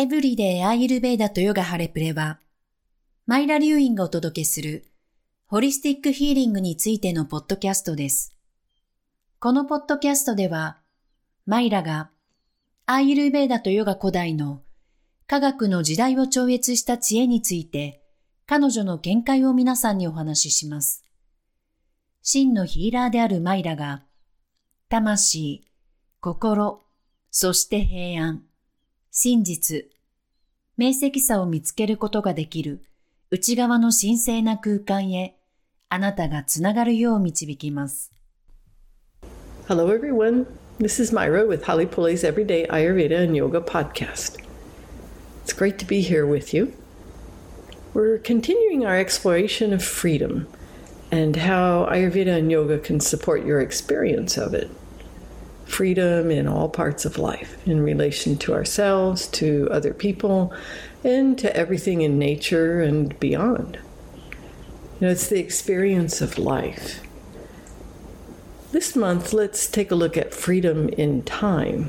エブリデイアーユルヴェーダとヨガハレプレは、マイラ・リュウインがお届けするホリスティックヒーリングについてのポッドキャストです。このポッドキャストでは、マイラがアーユルヴェーダとヨガ古代の科学の時代を超越した知恵について、彼女の見解を皆さんにお話しします。真のヒーラーであるマイラが、魂、心、そして平安、真実、明晰さを見つけることができる内側の神聖な空間へあなたがつながるよう導きます。 Hello everyone, this is Myra with Holly Pulley's Everyday Ayurveda and Yoga podcast. It's great to be here with you. We're continuing our exploration of freedom and how Ayurveda and Yoga can support your experience of it. Freedom in all parts of life, in relation to ourselves, to other people, and to everything in nature and beyond. It's the experience of life. This month, let's take a look at freedom in time.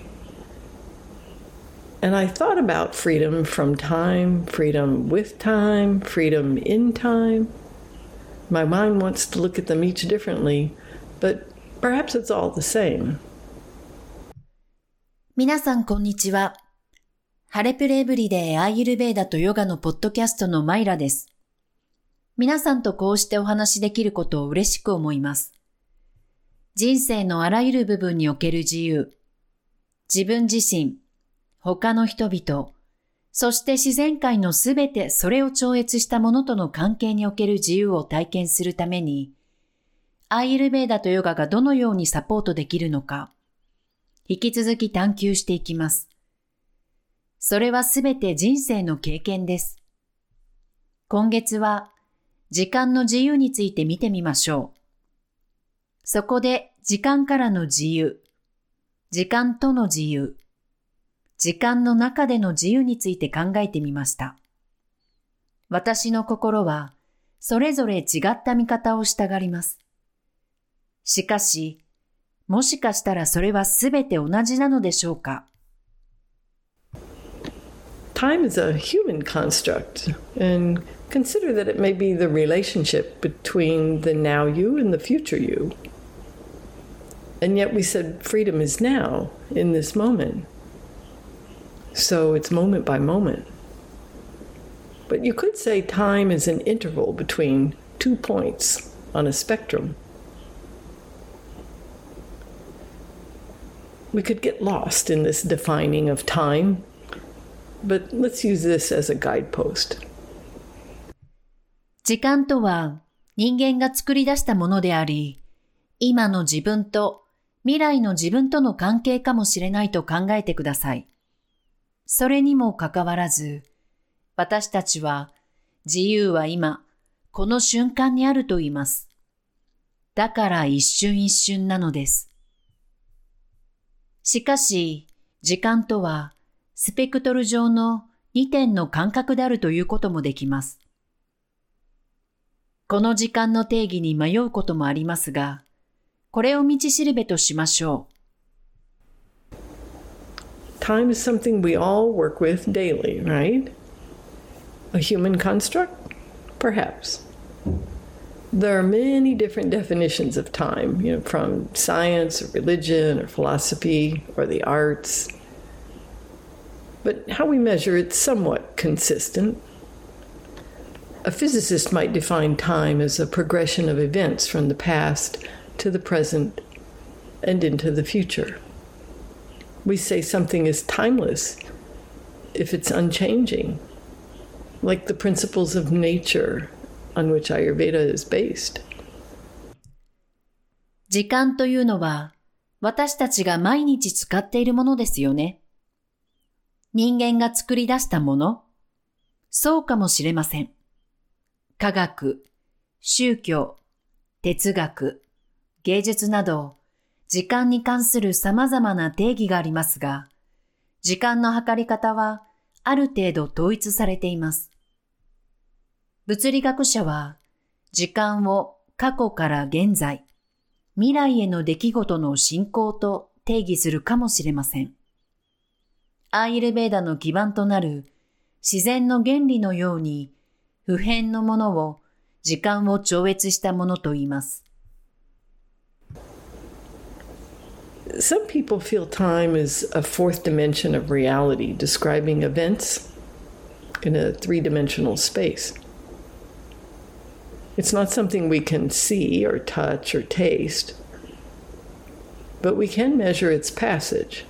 And I thought about freedom from time, freedom with time, freedom in time. My mind wants to look at them each differently, but perhaps it's all the same. 皆さんこんにちは。ハレプレエブリデイアーユルヴェーダとヨガのポッドキャストのマイラです。皆さんとこうしてお話しできることを嬉しく思います。人生のあらゆる部分における自由、自分自身、他の人々、そして自然界のすべてそれを超越したものとの関係における自由を体験するために、アーユルヴェーダとヨガがどのようにサポートできるのか、引き続き探求していきます。それはすべて人生の経験です。今月は時間の自由について見てみましょう。そこで時間からの自由、時間との自由、時間の中での自由について考えてみました。私の心はそれぞれ違った見方をしたがります。しかし、もしかしたらそれはすべて同じなのでしょうか。 Time is a human construct, and consider that it may be the relationship between the now you and the future you. And yet we said freedom is now, in this moment. So it's moment by moment. But you could say time is an interval between 2 points on a spectrum. We could get lost in this defining of time, but let's use this as a guidepost. 時間とは人間が作り出したものであり、今の自分と未来の自分との関係かもしれないと考えてください。それにもかかわらず、私たちは自由は今、この瞬間にあると言います。だから一瞬一瞬なのです。しかし、時間とはスペクトル上の2点の間隔であるということもできます。この時間の定義に迷うこともありますが、これを道しるべとしましょう。 Time is something we all work with daily, right? A human construct? Perhaps. There are many different definitions of time, from science or religion or philosophy or the arts. But how we measure it's somewhat consistent. A physicist might define time as a progression of events from the past to the present and into the future. We say something is timeless if it's unchanging, like the principles of nature on which Ayurveda is based. 時間というのは私たちが毎日使っているものですよね。人間が作り出したもの？そうかもしれません。科学、宗教、哲学、芸術など、時間に関する様々な定義がありますが、時間の測り方はある程度統一されています。物理学者は、時間を過去から現在、未来への出来事の進行と定義するかもしれません。 アーユルヴェーダの基盤となる自然の原理のように不変のものを時間を超越したものと言います。 Some people feel time is a fourth dimension of reality, describing events in a three-dimensional space. It's not something we can see or touch or taste, but we can measure its passage.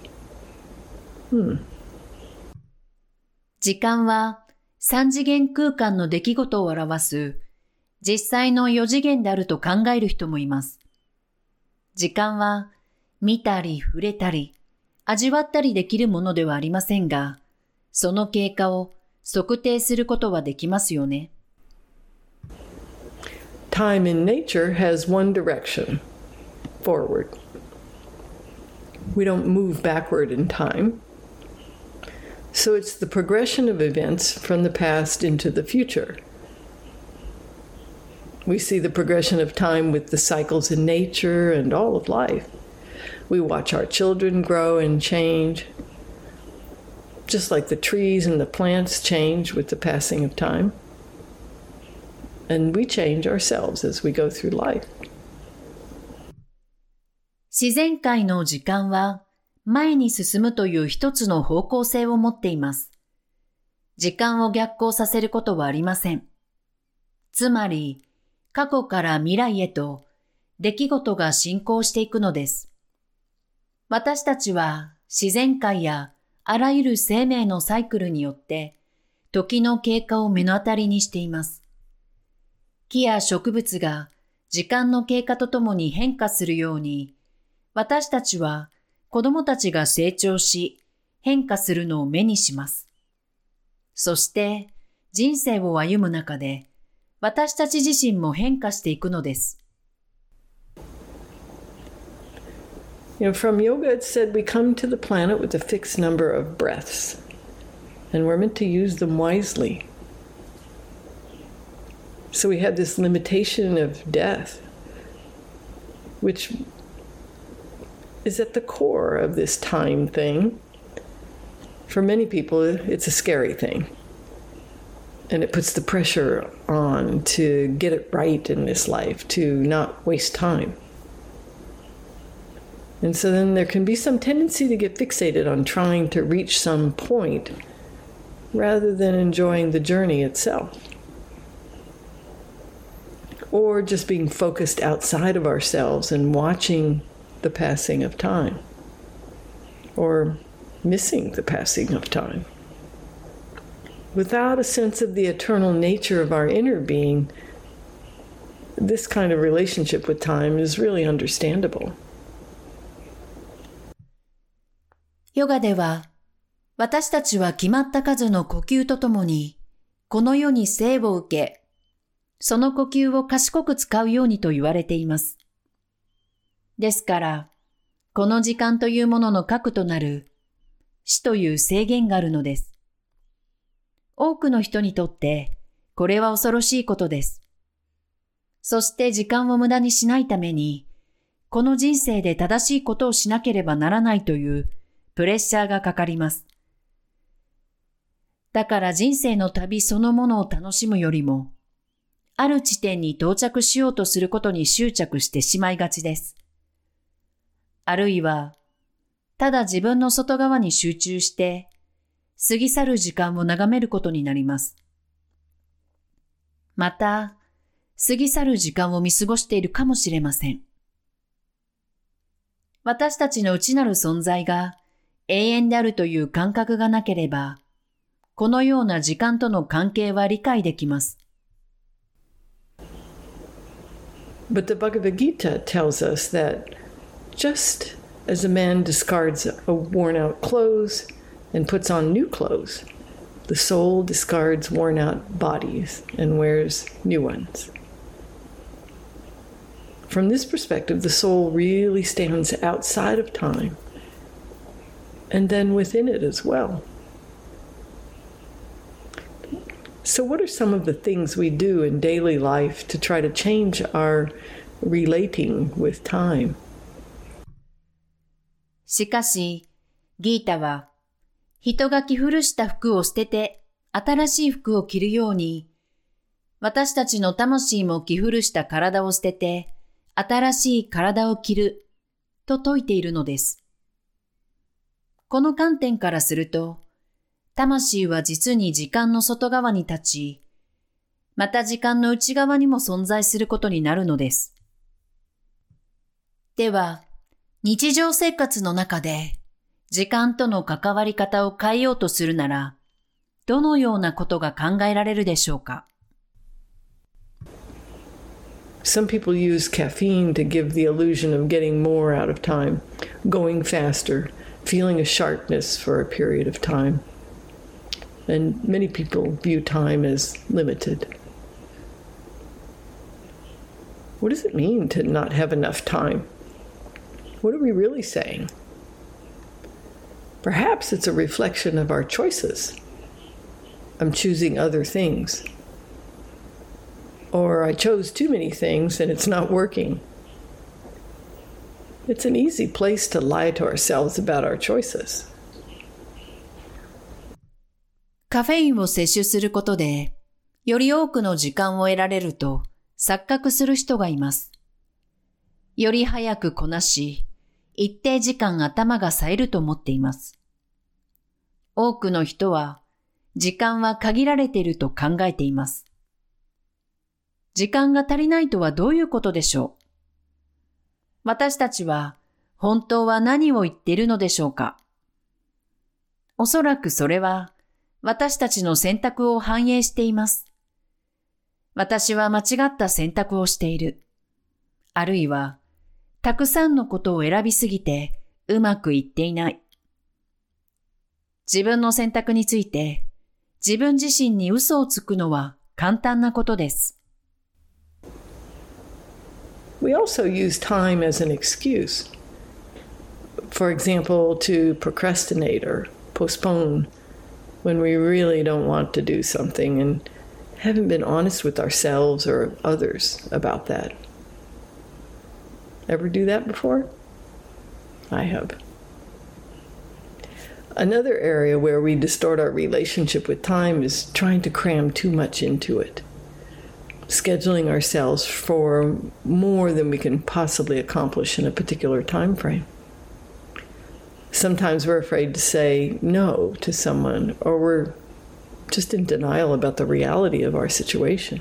時間は三次元空間の出来事を表す実際の四次元であると考える人もいます。時間は見たり触れたり味わったりできるものではありませんが、その経過を測定することはできますよね。 Time in nature has one direction, forward. We don't move backward in time. So it's the progression of events from the past into the future. We see the progression of time with the cycles in nature and all of life. We watch our children grow and change, just like the trees and the plants change with the passing of time. And we change ourselves as we go through life. 自然界の時間は前に進むという一つの方向性を持っています。時間を逆行させることはありません。つまり、過去から未来へと出来事が進行していくのです。私たちは自然界やあらゆる生命のサイクルによって時の経過を目の当たりにしています。木や植物が時間の経過とともに変化するように、私たちは子供たちが成長し変化するのを目にします。そして人生を歩む中で私たち自身も変化していくのです。 From yoga it said we come to the planet with a fixed number of breaths, and we're meant to use them wisely. So we have this limitation of death, which is at the core of this time thing. For many people, it's a scary thing. And it puts the pressure on to get it right in this life, to not waste time. And so then there can be some tendency to get fixated on trying to reach some point rather than enjoying the journey itself. Or just being focused outside of ourselves and watching the passing of time. Or missing the passing of time. Without a sense of the eternal nature of our inner being, this kind of relationship with time is really understandable. ヨガでは、私たちは決まった数の呼吸とともに、この世に生を受け、その呼吸を賢く使うようにと言われています。ですから、この時間というものの核となる死という制限があるのです。多くの人にとって、これは恐ろしいことです。そして時間を無駄にしないために、この人生で正しいことをしなければならないというプレッシャーがかかります。だから人生の旅そのものを楽しむよりも、ある地点に到着しようとすることに執着してしまいがちです。あるいは、ただ自分の外側に集中して、過ぎ去る時間を眺めることになります。また、過ぎ去る時間を見過ごしているかもしれません。私たちの内なる存在が永遠であるという感覚がなければ、このような時間との関係は理解できます。 But the Bhagavad Gita tells us that just as a man discards a worn-out clothes and puts on new clothes, the soul discards worn-out bodies and wears new ones. From this perspective, the soul really stands outside of time, and then within it as well. So what are some of the things we do in daily life to try to change our relating with time? しかし、ギータは、 人が着古した服を捨てて新しい服を着るように、私たちの魂も着古した体を捨てて新しい体を着ると説いているのです。この観点からすると、魂は実に時間の外側に立ち、また時間の内側にも存在することになるのです。では、日常生活の中で時間との関わり方を変えようとするなら、どのようなことが考えられるでしょうか。 Some people use caffeine to give the illusion of getting more out of time, going faster, feeling a sharpness for a period of time. And many people view time as limited. What does it mean to not have enough time? What are we really saying? Perhaps it's a reflection of our choices. I'm choosing other things. Or I chose too many things and it's not working. It's an easy place to lie to ourselves about our choices. カフェインを摂取することで、より多くの時間を得られると錯覚する人がいます。より早くこなし、一定時間頭が冴えると思っています。多くの人は、時間は限られていると考えています。時間が足りないとはどういうことでしょう？私たちは本当は何を言っているのでしょうか？おそらくそれは私たちの選択を反映しています。私は間違った選択をしている。あるいは、たくさんのことを選びすぎてうまくいっていない。自分の選択について自分自身に嘘をつくのは簡単なことです。 We also use time as an excuse. For example, to procrastinate or postpone when we really don't want to do something and haven't been honest with ourselves or others about that. Ever do that before? I have. Another area where we distort our relationship with time is trying to cram too much into it. Scheduling ourselves for more than we can possibly accomplish in a particular time frame. Sometimes we're afraid to say no to someone, or we're just in denial about the reality of our situation.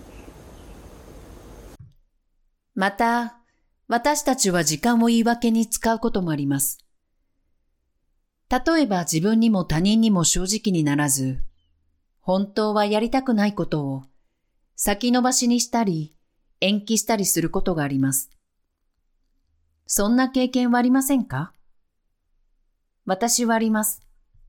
また、私たちは時間を言い訳に使うこともあります。例えば自分にも他人にも正直にならず、本当はやりたくないことを先延ばしにしたり、延期したりすることがあります。そんな経験はありませんか？私はあります。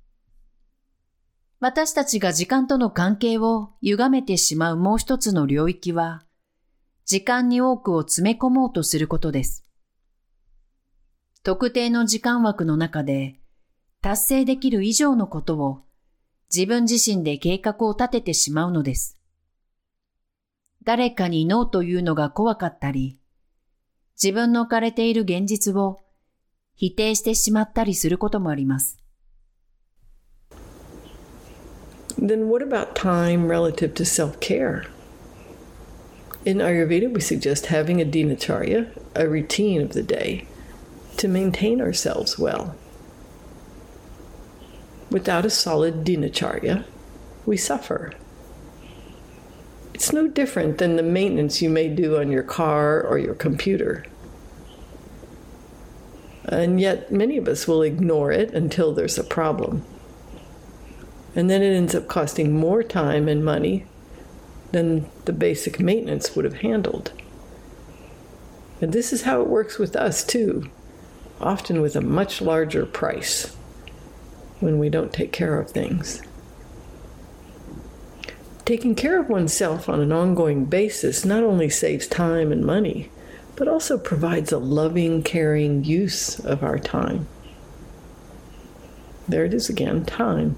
私たちが時間との関係を歪めてしまうもう一つの領域は、時間に多くを詰め込もうとすることです。特定の時間枠の中で、達成できる以上のことを自分自身で計画を立ててしまうのです。誰かにノーというのが怖かったり、自分の置かれている現実を否定してしまったりすることもあります。 Then what about time relative to self-care? In Ayurveda, we suggest having a dinacharya, a routine of the day, to maintain ourselves well. Without a solid dinacharya, we suffer. It's no different than the maintenance you may do on your car or your computer. And yet many of us will ignore it until there's a problem. And then it ends up costing more time and money than the basic maintenance would have handled. And this is how it works with us too, often with a much larger price when we don't take care of things. Taking care of oneself on an ongoing basis not only saves time and money, but also provides a loving, caring use of our time. There it is again, time.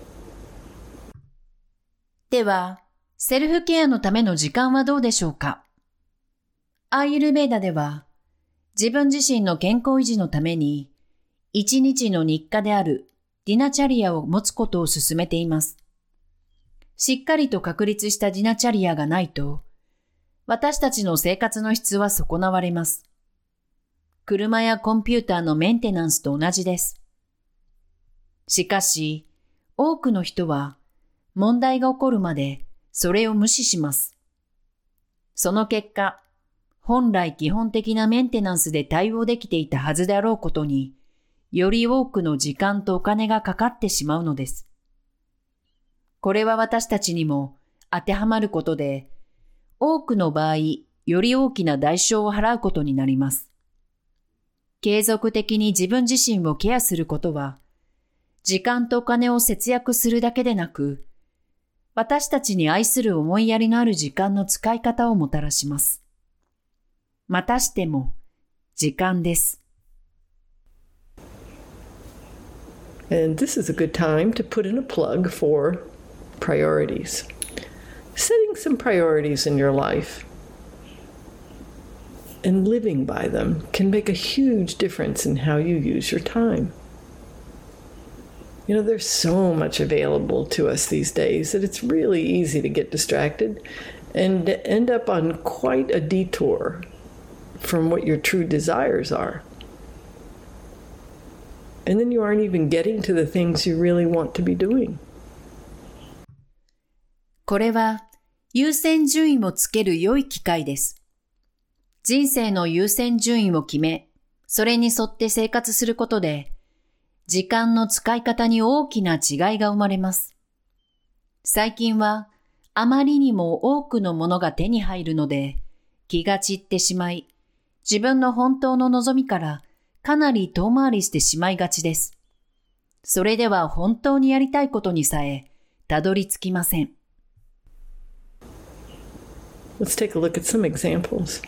では、セルフケアのための時間はどうでしょうか？アーユルヴェーダでは、自分自身の健康維持のために、一日の日課であるディナチャリアを持つことを勧めています。しっかりと確立したディナチャリアがないと、私たちの生活の質は損なわれます。車やコンピューターのメンテナンスと同じです。しかし、多くの人は問題が起こるまでそれを無視します。その結果、本来基本的なメンテナンスで対応できていたはずであろうことに、より多くの時間とお金がかかってしまうのです。これは私たちにも当てはまることで、多くの場合、より大きな代償を払うことになります。継続的に自分自身をケアすることは、時間とお金を節約するだけでなく、私たちに愛する思いやりのある時間の使い方をもたらします。またしても、時間です。 And this is a good time to put in a plug for priorities. Setting some priorities in your life and living by them can make a huge difference in how you use your time. You know, there's so much available to us these days that it's really easy to get distracted and end up on quite a detour from what your true desires are. And then you aren't even getting to the things you really want to be doing. これは優先順位をつける良い機会です。人生の優先順位を決め、それに沿って生活することで、時間の使い方に大きな違いが生まれます。最近はあまりにも多くのものが手に入るので、気が散ってしまい、自分の本当の望みからかなり遠回りしてしまいがちです。それでは本当にやりたいことにさえたどり着きません。 Let's take a look at some examples.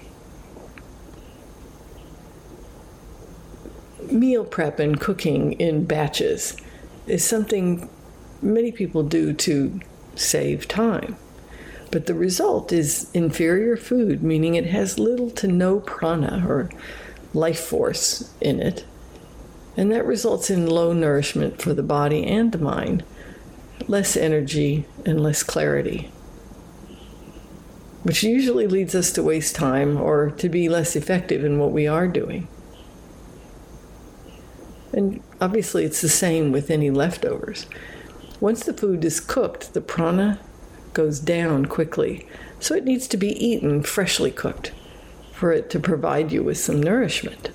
Meal prep and cooking in batches is something many people do to save time. But the result is inferior food, meaning it has little to no prana or life force in it. And that results in low nourishment for the body and the mind, less energy and less clarity, which usually leads us to waste time or to be less effective in what we are doing. And obviously it's the same with any leftovers. Once the food is cooked, the prana goes down quickly, so it needs to be eaten freshly cooked for it to provide you with some nourishment.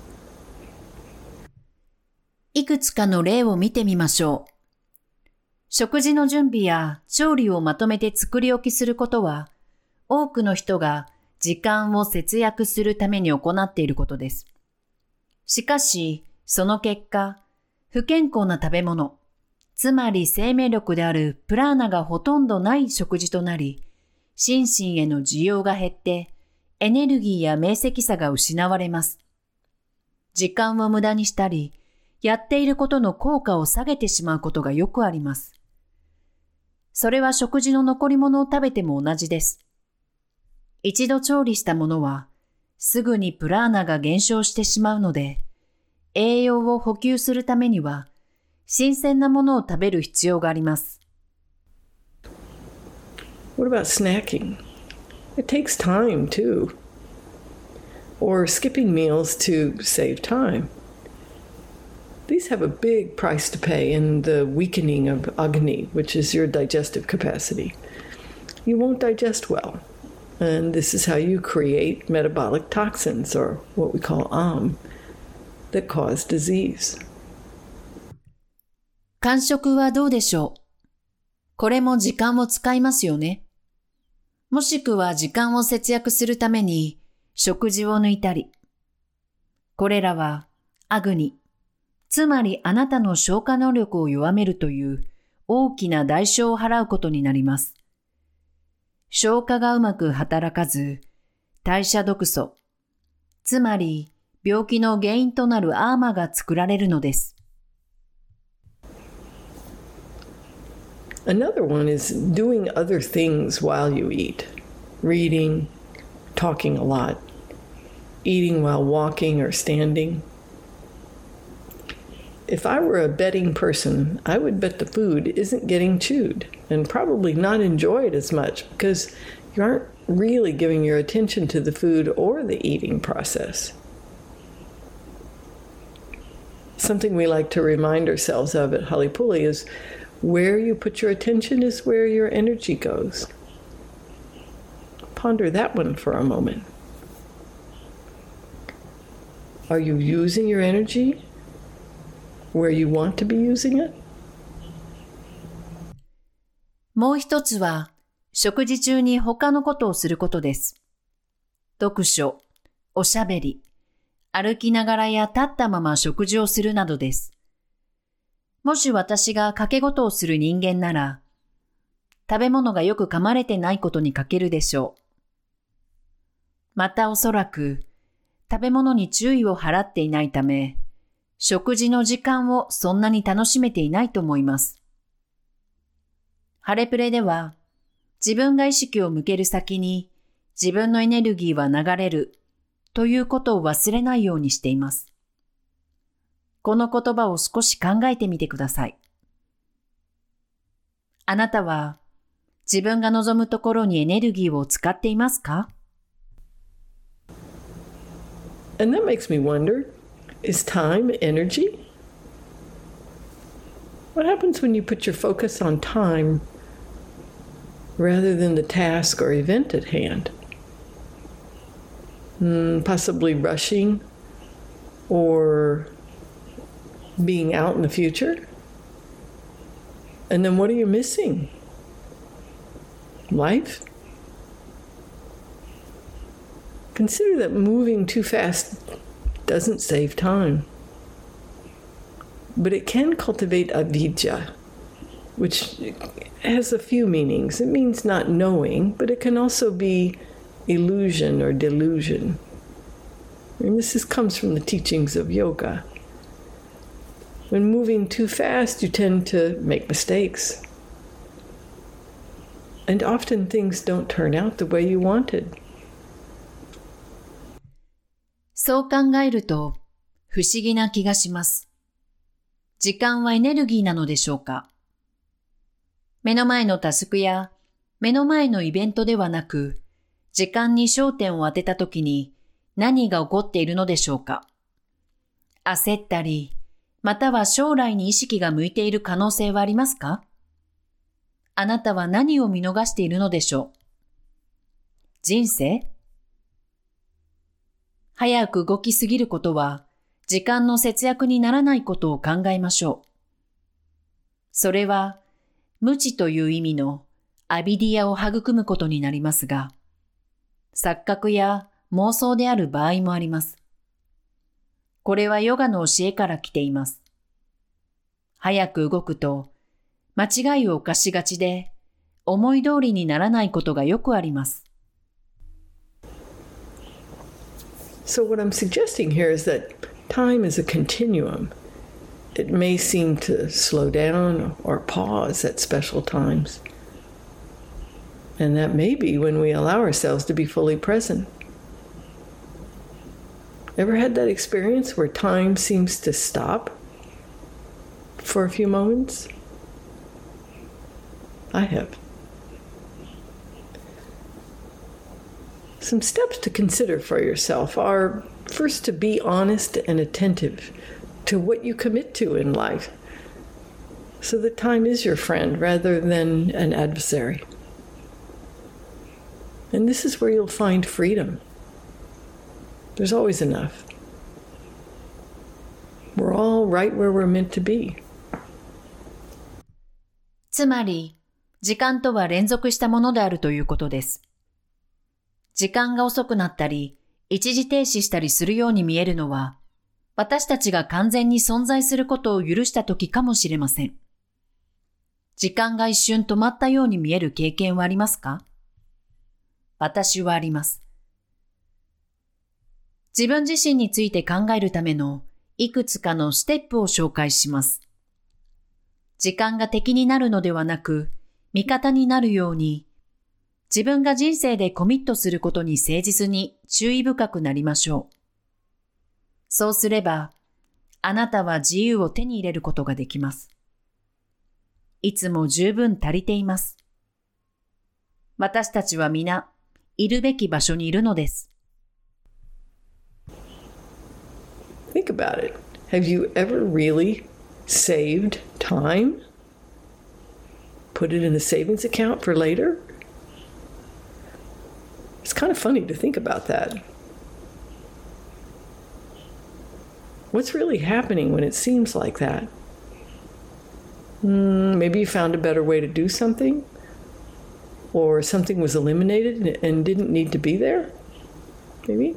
いくつかの例を見てみましょう。食事の準備や調理をまとめて作り置きすることは、多くの人が時間を節約するために行っていることです。しかし、その結果、不健康な食べ物、つまり生命力であるプラーナがほとんどない食事となり、心身への需要が減って、エネルギーや明晰さが失われます。時間を無駄にしたり、やっていることの効果を下げてしまうことがよくあります。それは食事の残り物を食べても同じです。一度調理したものは、すぐにプラーナが減少してしまうので、栄養を補給するためには、新鮮なものを食べる必要があります。 What about snacking? It takes time too. Or skipping meals to save time. These have a big price to pay in the weakening of Agni, which is your digestive capacity. You won't digest well. And this is how you create metabolic toxins, or what we call that cause disease. 間食はどうでしょう？これも時間を使いますよね。もしくは時間を節約するために食事を抜いたり。これらはアグニ、つまりあなたの消化能力を弱めるという大きな代償を払うことになります。消化がうまく働かず、代謝毒素、つまり病気の原因となるアーマが作られるのです。 Another one is doing other things while you eat. Reading, talking a lot, eating while walking or standing. if I were a betting person, I would bet the food isn't getting chewed and probably not enjoyed as much because you aren't really giving your attention to the food or the eating process. Something we like to remind ourselves of at Halipuli is where you put your attention is where your energy goes. Ponder that one for a moment. Are you using your energy where you want to be using it? もう一つは、食事中に他のことをすることです。読書、おしゃべり、歩きながらや立ったまま食事をするなどです。もし私が掛け事をする人間なら、食べ物がよく噛まれてないことに欠けるでしょう。またおそらく、食べ物に注意を払っていないため、食事の時間をそんなに楽しめていないと思います。ハレプレでは、自分が意識を向ける先に自分のエネルギーは流れるということを忘れないようにしています。この言葉を少し考えてみてください。あなたは自分が望むところにエネルギーを使っていますか？ And that makes me wonder, is time energy? What happens when you put your focus on time rather than the task or event at hand? Possibly rushing or being out in the future? And then what are you missing? Life? Consider that moving too fast doesn't save time. But it can cultivate avidya, which has a few meanings. It means not knowing, but it can also be illusion or delusion. And this comes from the teachings of yoga. When moving too fast, you tend to make mistakes. And often things don't turn out the way you wanted. そう考えると不思議な気がします。時間はエネルギーなのでしょうか？目の前のタスクや目の前のイベントではなく、時間に焦点を当てたときに何が起こっているのでしょうか？焦ったり、または将来に意識が向いている可能性はありますか？あなたは何を見逃しているのでしょう？人生？早く動きすぎることは時間の節約にならないことを考えましょう。それは無知という意味のアビディアを育むことになりますが、錯覚や妄想である場合もあります。これはヨガの教えから来ています。早く動くと間違いを犯しがちで思い通りにならないことがよくあります。 So what I'm suggesting here is that time is a continuum. It may seem to slow down or pause at special times. And that may be when we allow ourselves to be fully present. Ever had that experience where time seems to stop for a few moments? I have. Some steps to consider for yourself are first to be honest and attentive to what you commit to in life, so that time is your friend rather than an adversary. And this is where you'll find freedom. There's always enough. We're all right where we're meant to be. つまり、時間とは連続したものであるということです。時間が遅くなったり、一時停止したりするように見えるのは、私たちが完全に存在することを許したときかもしれません。時間が一瞬止まったように見える経験はありますか？私はあります。自分自身について考えるためのいくつかのステップを紹介します。時間が敵になるのではなく、味方になるように、自分が人生でコミットすることに誠実に注意深くなりましょう。そうすれば、 あなたは自由を手に入れることができます。いつも十分足りています。私たちは皆、いるべき場所にいるのです。 Think about it. Have you ever really saved time? Put it in a savings account for later? It's kind of funny to think about that. What's really happening when it seems like that? Maybe you found a better way to do something? Or something was eliminated and didn't need to be there? Maybe?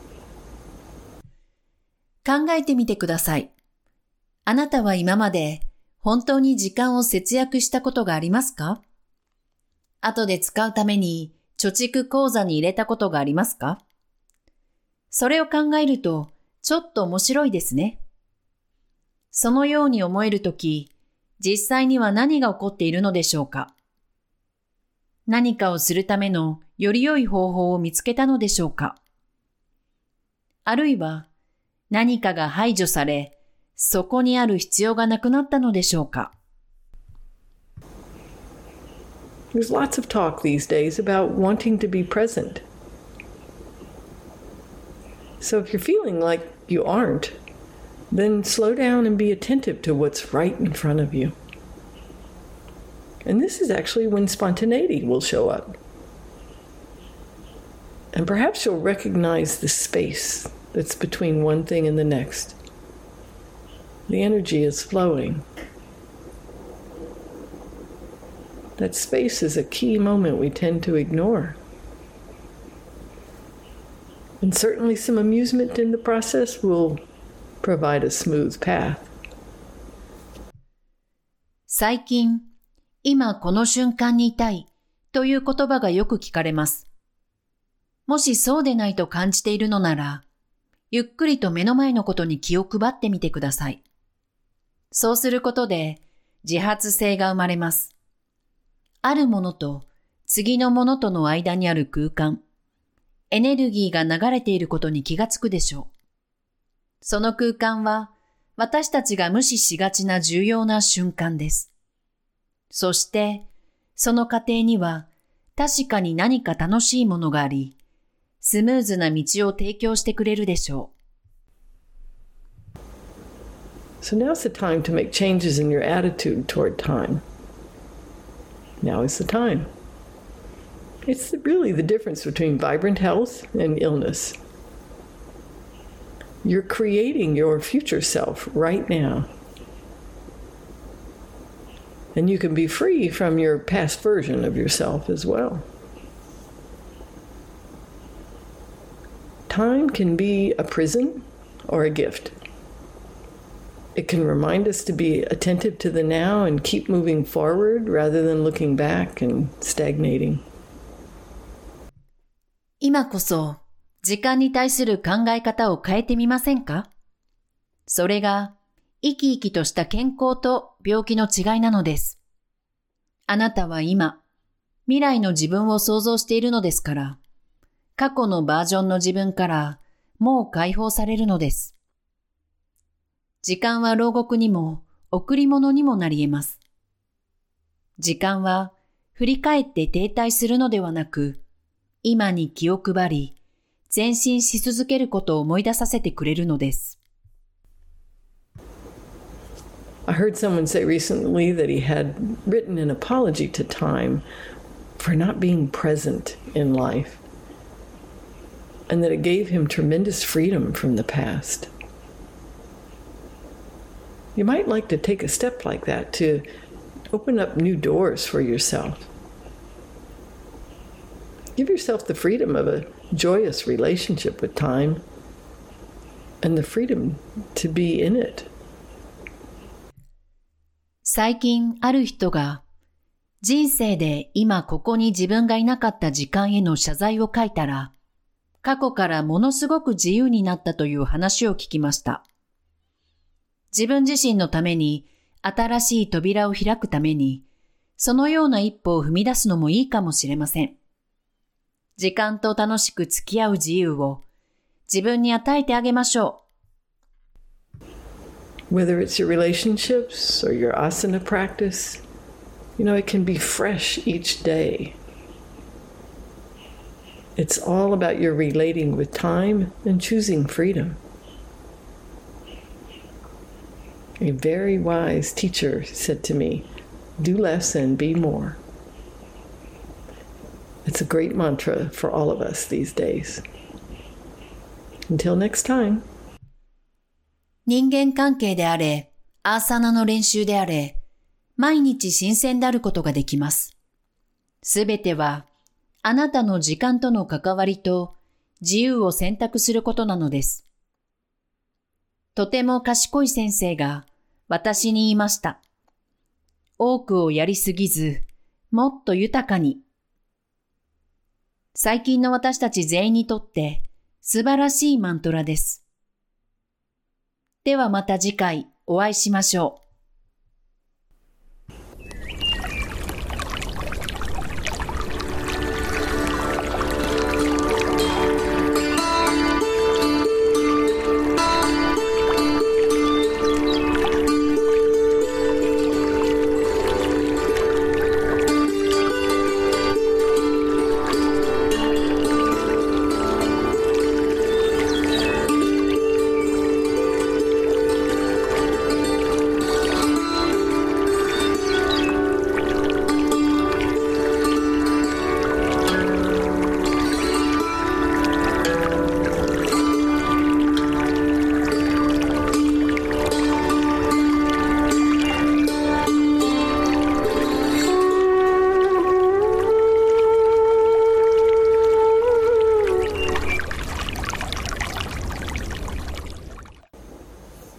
考えてみてください。あなたは今まで本当に時間を節約したことがありますか？後で使うために貯蓄口座に入れたことがありますか？それを考えるとちょっと面白いですね。そのように思えるとき、実際には何が起こっているのでしょうか？何かをするためのより良い方法を見つけたのでしょうか？あるいは何かが排除され、そこにある必要がなくなったのでしょうか？ There's lots of talk these days about wanting to be present. So if you're feeling like you aren't, then slow down and be attentive to what's right in front of you. And this is actually when spontaneity will show up. And perhaps you'll recognize the space that's between one thing and the next. The energy is flowing. That space is a key moment we tend to ignore. And certainly some amusement in the process will provide a smooth path. 最近、今この瞬間にいたいという言葉がよく聞かれます。もしそうでないと感じているのなら、ゆっくりと目の前のことに気を配ってみてください。そうすることで自発性が生まれます。あるものと次のものとの間にある空間、エネルギーが流れていることに気がつくでしょう。その空間は私たちが無視しがちな重要な瞬間です。そしてその過程には確かに何か楽しいものがあり、スムーズな道を提供してくれるでしょう。 So now's the time to make changes in your attitude toward time. Now is the time. It's really the difference between vibrant health and illness. You're creating your future self right now. And you can be free from your past version of yourself as well. Time can be a prison or a gift. It can remind us to be attentive to the now and keep moving forward rather than looking back and stagnating. 今こそ時間に対する考え方を変えてみませんか？それが生き生きとした健康と病気の違いなのです。あなたは今、未来の自分を想像しているのですから、過去のバージョンの自分からもう解放されるのです。時間は牢獄にも贈り物にもなり得ます。時間は振り返って停滞するのではなく、今に気を配り、前進し続けることを思い出させてくれるのです。 I heard someone say recently that he had written an apology to time for not being present in life, and that it gave him tremendous freedom from the past. You might like to take a step like that to open up new doors for yourself. Give yourself the freedom of a joyous relationship with time and the freedom to be in it. 最近ある人が人生で今ここに自分がいなかった時間への謝罪を書いたら、過去からものすごく自由になったという話を聞きました。自分自身のために新しい扉を開くために、そのような一歩を踏み出すのもいいかもしれません。時間と楽しく付き合う自由を自分に与えてあげましょう。 Whether it's your relationships or your asana practice, it can be fresh each day. It's all about your relating with time and choosing freedom. A very wise teacher said to me, "Do less and be more." It's a great mantra for all of us these days. Until next time. 人間関係であれ、アーサナの練習であれ、毎日新鮮であることができます。すべては、あなたの時間との関わりと自由を選択することなのです。とても賢い先生が私に言いました。多くをやりすぎず、もっと豊かに。最近の私たち全員にとって素晴らしいマントラです。ではまた次回お会いしましょう。